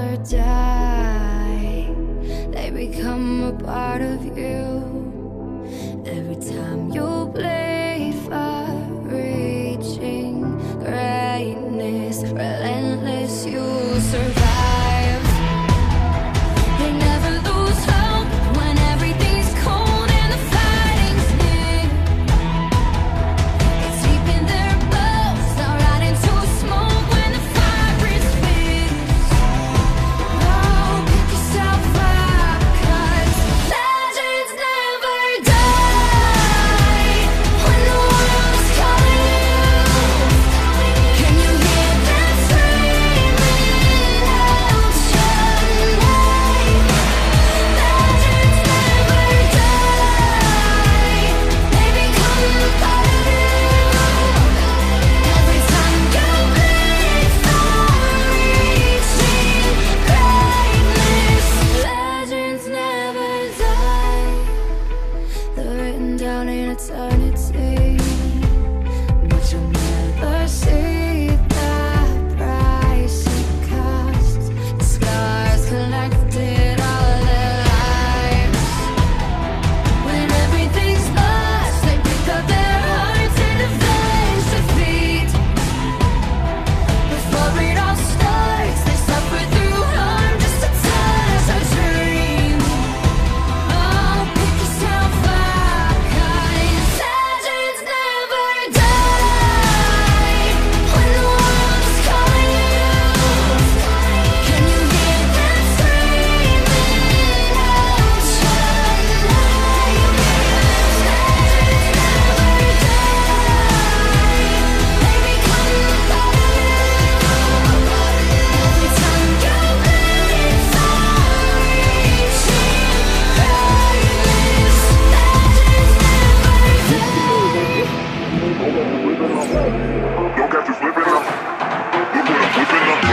never die. They become a part of you. Every time you play far reaching greatness, relentless, you survive. They never lose hope when everything's cold and the fighting's near. It's deep in their bones, not right into smoke when the fire is fierce. Oh, pick yourself up, 'cause legends never die. When the world is calling you, can you hear them screaming out your name? Legends never die. They become a part of you. Every time you bleed for reaching greatness, legends never die. They're written down in eternity, but you'll never see the price it costs. The scars collected all their lives. When everything's lost, they pick up their hearts and avenge defeat. Before it all starts, they suffer through harm just to touch a dream. Oh, pick yourself up, 'cause legends never die. When the world is calling you, can you hear them screaming out your name? Legends never die. They become a part of you. Every time you bleed for reaching greatness, legends never die. Don't catch you slipping now. Look what I'm whipping up.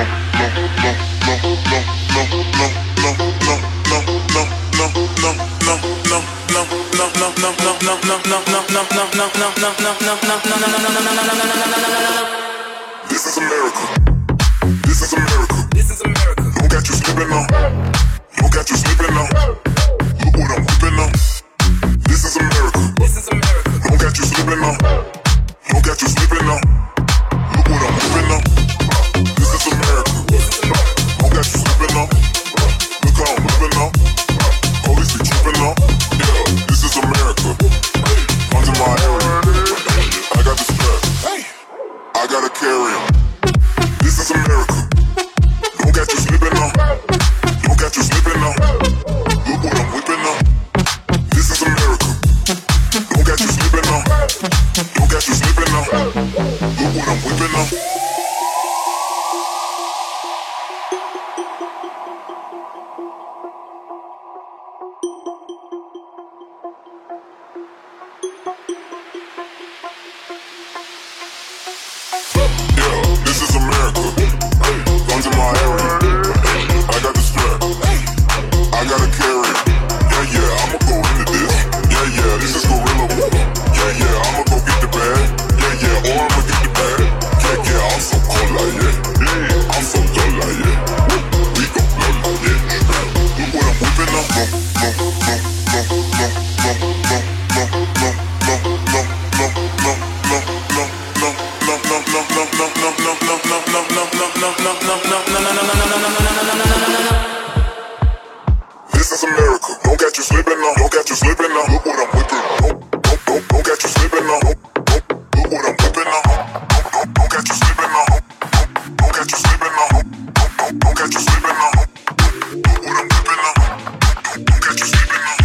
This is America. This is America. This is America. Don't catch you slipping now. Don't catch you slipping now. Look what I'm whipping up. This is America. This is America. Don't catch you slipping now. Don't catch you slipping now. Look what I'm whipping up. This is America. Don't catch you slipping now. Look how I'm whipping up. Police be tripping up. Yeah, this is America. Guns in my area. I got the strap. I gotta carry 'em. This is America. Don't catch you slipping now. Don't catch you slipping now. Look what I'm whipping up. This is America. Don't catch you slipping now. Don't catch you slipping now. Look what I'm whipping up. Yeah, this is America. Guns in my area. I got the strap. I gotta carry it. Yeah, yeah, I'ma go into this. Yeah, yeah, this is gorilla. Yeah, yeah, I'ma go get the bag. Yeah, yeah, or I'ma get the bag. Yeah, yeah, I'm so cold like yeah. Yeah, I'm so dull like yeah. We gon' blow like yeah. Look what I'm whipping up. This is America. Don't catch you slipping now. Don't catch you slipping now. Look what I'm whipping. Don't catch you slipping now. Look what I'm whipping now. Don't catch you slipping now. Don't catch you slipping now. Don't catch you slipping now. Look what I'm whipping now. Don't catch you slipping now.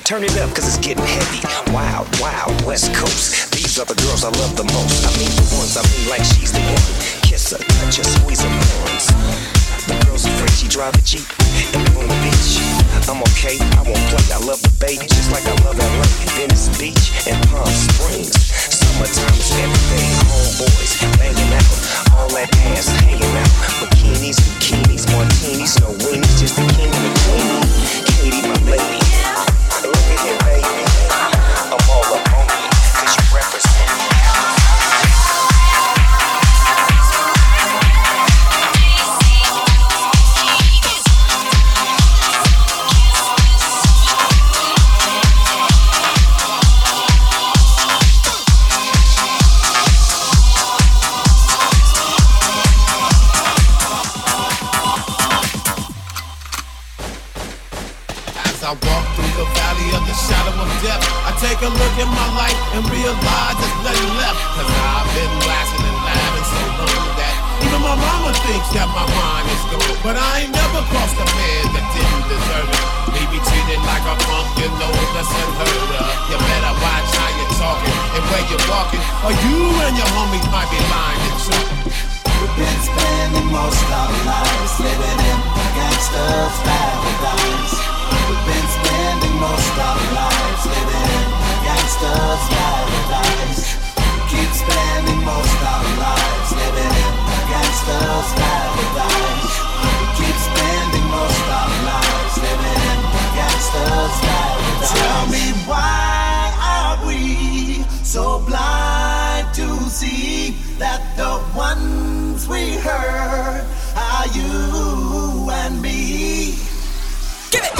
Turn it up, cause it's getting heavy. Wild, wild, West Coast. These are the girls I love the most. I mean the ones, I mean like she's the one. Kiss her, touch her, squeeze her bones. The girl's afraid she drive a Jeep and we on the beach. I'm okay, I won't play, I love the bay, just like I love LA. Venice Beach and Palm Springs. Summertime is everything, homeboys banging out. All that ass hanging out. Bikinis, bikinis, martinis, no weenies, just the king and the queen. Katie, my lady. Look at here, baby. I'm all up on you, cause you represent me. I walk through the valley of the shadow of death, I take a look at my life and realize there's nothing left. Cause I've been blasting and laughing so long that even my mama thinks that my mind is gone. But I ain't never crossed a man that didn't deserve it. Me be treated like a punk, you know that's unheard of. You better watch how you're talking and where you're walking, or you and your homies might be lying and talking. We've been spending most of our lives living in a gangster's paradise. We've been spending most of our lives living in a gangster's paradise. Keep spending most of our lives living in a gangster's paradise. Keep spending most of our lives living in a gangster's paradise. Tell me why are we so blind to see that the ones we hurt are you and me? Give it!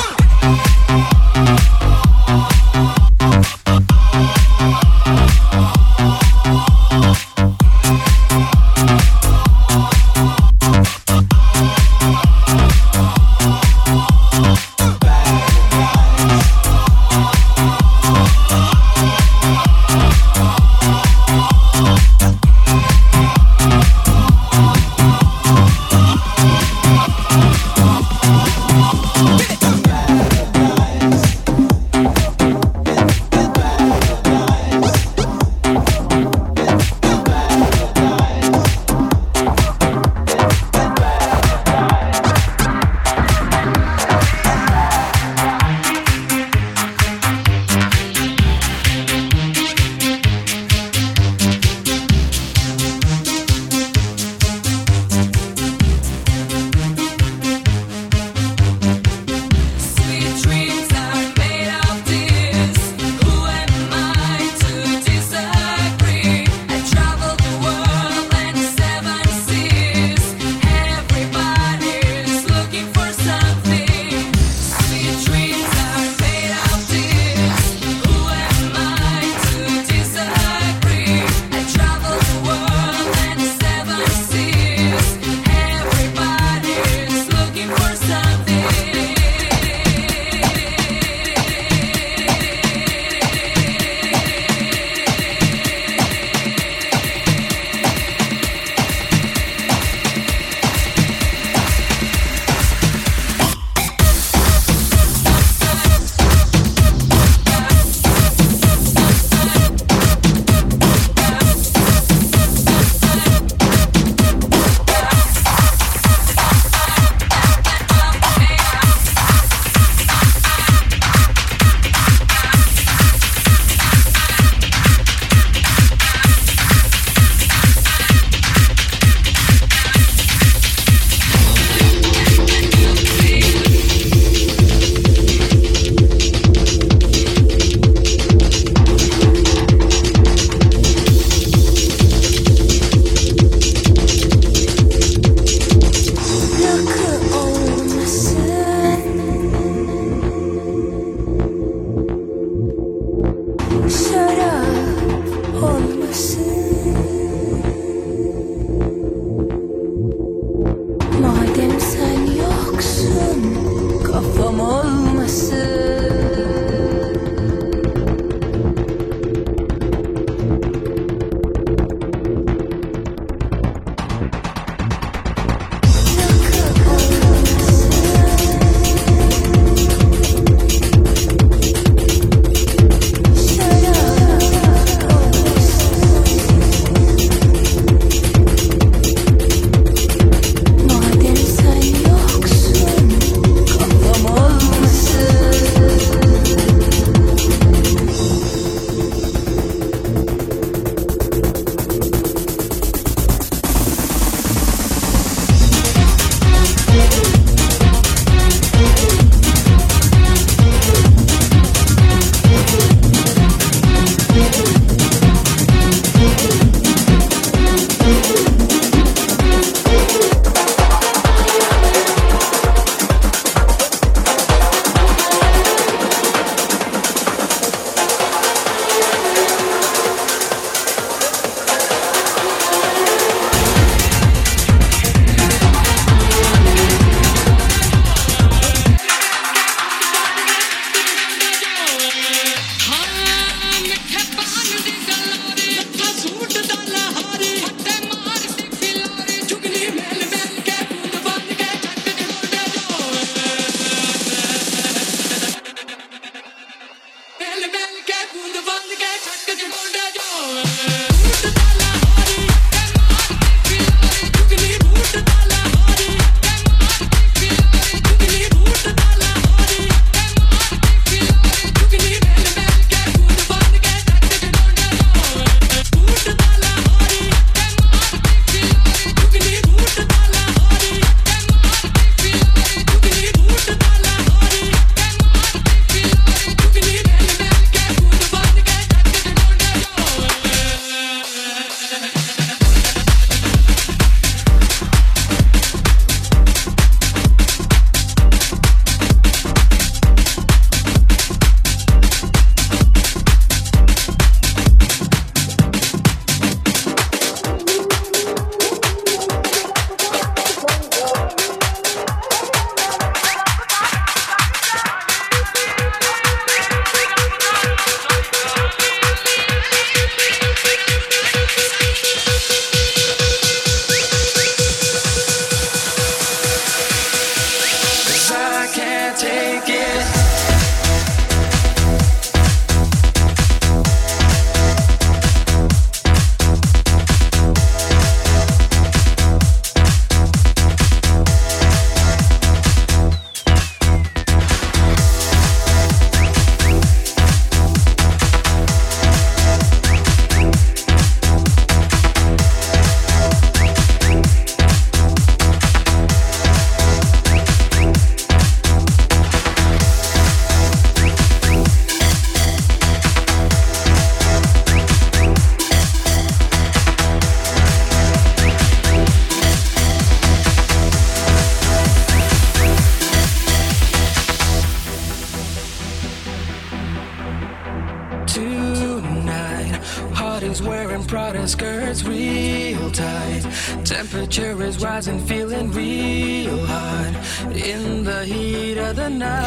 Temperature is rising, feeling real hot in the heat of the night.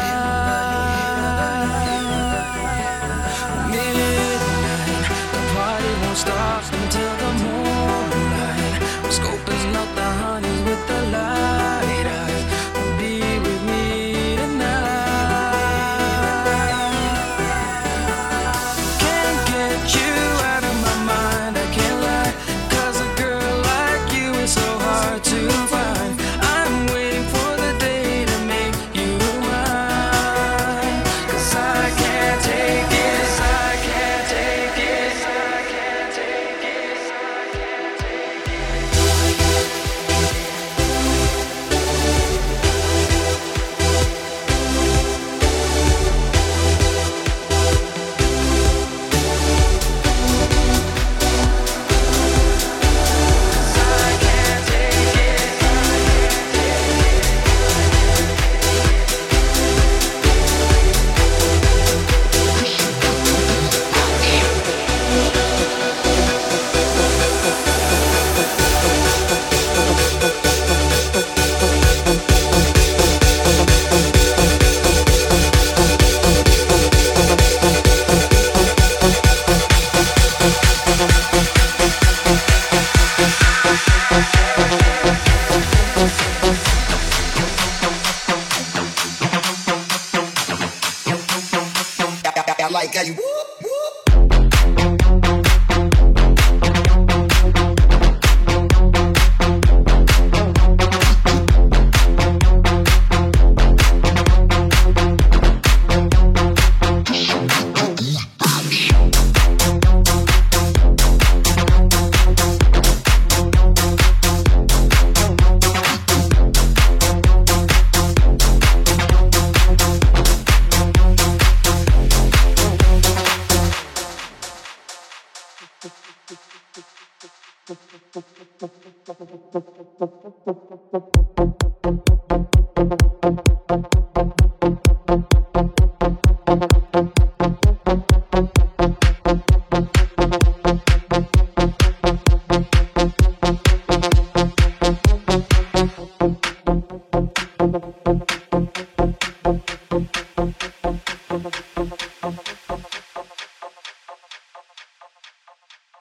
Midnight, the party won't stop until the moonlight. Scoping out the honeys with the light eyes. Be with me tonight. Can't get you out of my mind, I can't lie. 'Cause a girl like you is so hard to find. I'm waiting for the day to make you mine. 'Cause I can't take it, I can't take it, I can't take it, I can't take I like how you whoop, whoop. Thank you.